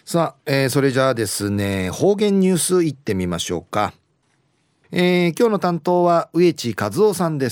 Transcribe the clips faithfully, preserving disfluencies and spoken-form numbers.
さあ、えーそれじゃあですね、方言ニュースいってみましょうか。えー今日の担当は植地和夫さんです。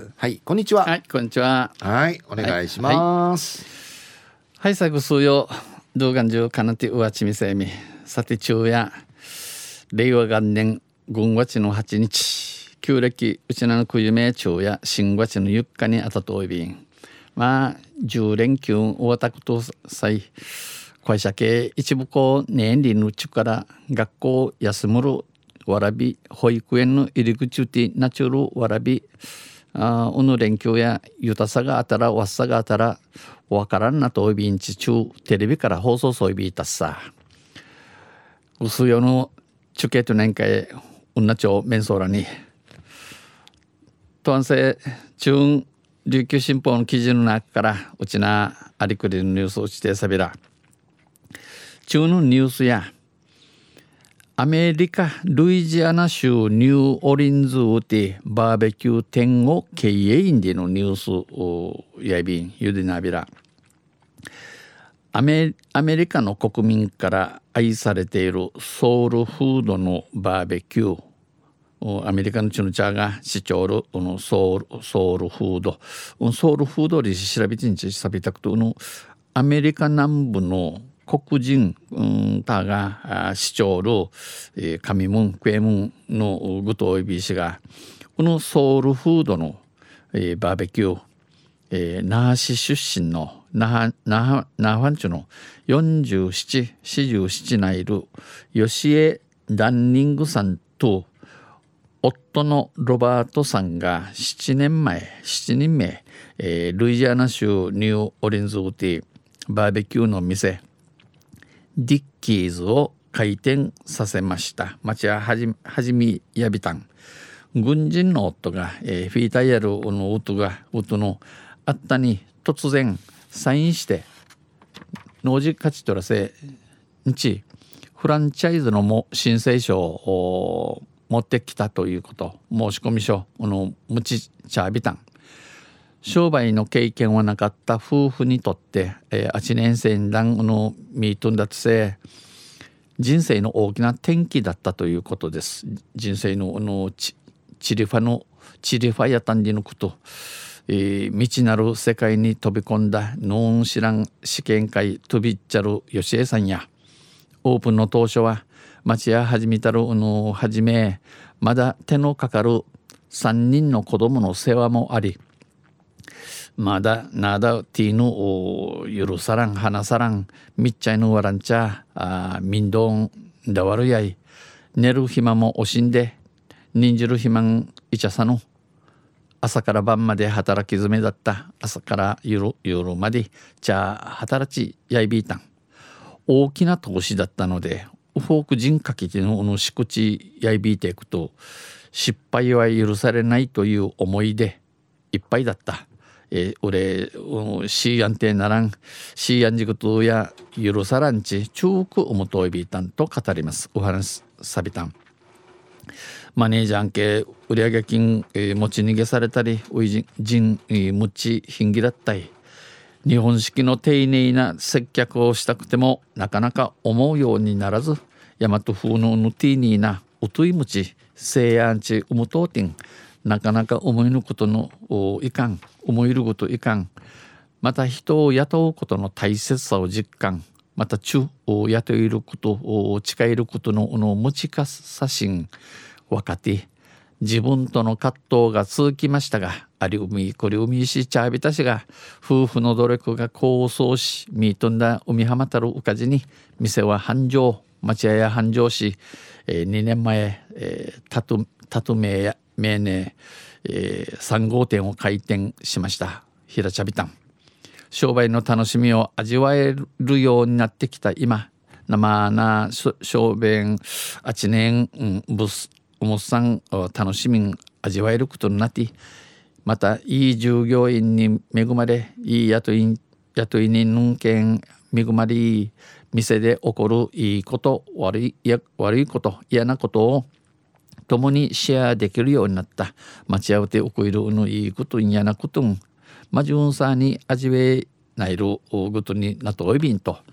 はい、こんにちは。 はい、こんにちは。 はい、お願いしはい、 ます。 はい、さぐすよ。動画中かなてうわちみせみ。さて昼夜。令和元年軍月のはちにち。旧暦うちなのくゆめ昼夜新月のゆっかにあたといびん。まあじゅう連休終わったことさい。会社系一部校年輪のちから学校休むるわらび保育園の入り口でなちゅるわらびあおの連休やゆたさがあたらわっさがあたらわからんなといびんち中テレビから放送そういびいたっさうすよの中継と年会うんなちょうめんそうらにとんせ中琉球新報の記事の中からうちなありくりのニュースをしてさびら中のニュースやアメリカルイジアナ州ニューオリンズウでバーベキュー店を経営員でのニュースをやいびんゆでなびらアメアメリカの国民から愛されているソウルフードのバーベキューアメリカのチュヌチャーが視聴るのソウルソウルフードソウルフードで調べてんちさびたくとのアメリカ南部の黒人、うん、たが視聴る、えー、上門クエムンのグトイビー氏がこのソウルフードの、えー、バーベキュー、えー、那覇市出身の那覇那覇那覇町のよんじゅうなな、よんじゅうなないる吉江ダンニングさんと夫のロバートさんがななねんまえななにんめ、えー、ルイジアナ州ニューオリンズウティバーベキューの店ディッキーズを開店させました。町ははじはじみやびたん軍人の夫が、えー、フィータイヤルの夫が夫のあったに突然サインして農事勝ち取らせんちフランチャイズのも申請書を持ってきたということ申し込み書のむちちゃびたん商売の経験はなかった夫婦にとって、えー、はちねん生のミートンだとせ人生の大きな転機だったということです。人生のあのチリファのチリファやたんじのこと、えー、未知なる世界に飛び込んだノン知らん試験会飛びっちゃる吉江さんやオープンの当初は町や始めたるのはじめまだ手のかかるさんにんの子供の世話もありまだなだティーヌを許さらん花さらんみっちゃいのわらんちゃあ民道んだわるやい寝る暇も惜しんで忍じる暇んいちゃさの朝から晩まで働き詰めだった朝から夜夜までじゃあ働ちやいびいたん大きな投資だったのでフォーク人かけてののしくちやいびいていくと失敗は許されないという思いでいっぱいだった。えー、俺シーアンテならんシーアンジグトや許さらんち中くおもといびいたんと語ります。お話さびたんマネージャー系売上金、えー、持ち逃げされたりおいじ人、えー、むちひんぎだったり日本式の丁寧な接客をしたくてもなかなか思うようにならず大和風のヌティーニーなうといむちせいやんちうむとうてんなかなか思いぬことのいかん思いることいかんまた人を雇うことの大切さを実感また中を雇えることを誓えることのの持ちかさしん若手自分との葛藤が続きましたがありうみこりうみしちゃびたしが夫婦の努力が功を奏しみとんだ海浜たるうかじに店は繁盛町屋や繁盛し、えー、にねんまえ、えー、たとたとめや名ね、えー、さん号店を開店しました。平茶びたん商売の楽しみを味わえるようになってきた今生な商売あちねん、うん、ブスおもさん楽しみん味わえることになってまたいい従業員に恵まれいい雇い雇い人の件恵まれ店で起こるいいこと悪いや悪いこと嫌なことを共にシェアできるようになった待ち合わておくいるのいいこと嫌なことんまじゅんさに味わえないることになとおいびんと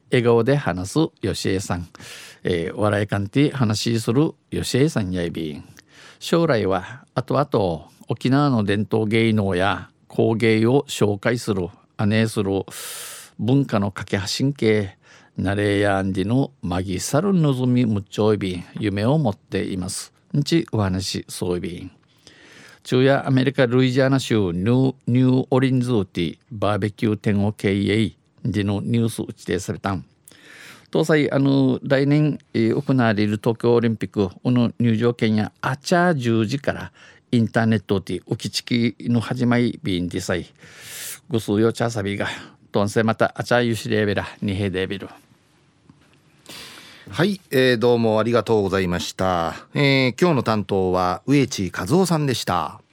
笑顔で話すよしえさん、えー、笑いかんて話するよしえさんやいびん。将来は後々沖縄の伝統芸能や工芸を紹介するアネする文化の架け橋系ナレやんでのマギサルのぞみむっちょいびん夢を持っています。んちお話そういびん。昼夜アメリカルイジアナ州ニュー、ニューオリンズウティバーベキュー店を経営でのニュース打ち定されたん。搭載あの来年、えー、行われる東京オリンピックこの入場券やあちゃじゅうじからインターネットで浮きちきの始まりビンディサイぐすうよちゃさびがとんせまたあちゃゆしレベラにへでビル。 はい、えー、どうもありがとうございました。えー、今日の担当は植地和夫さんでした。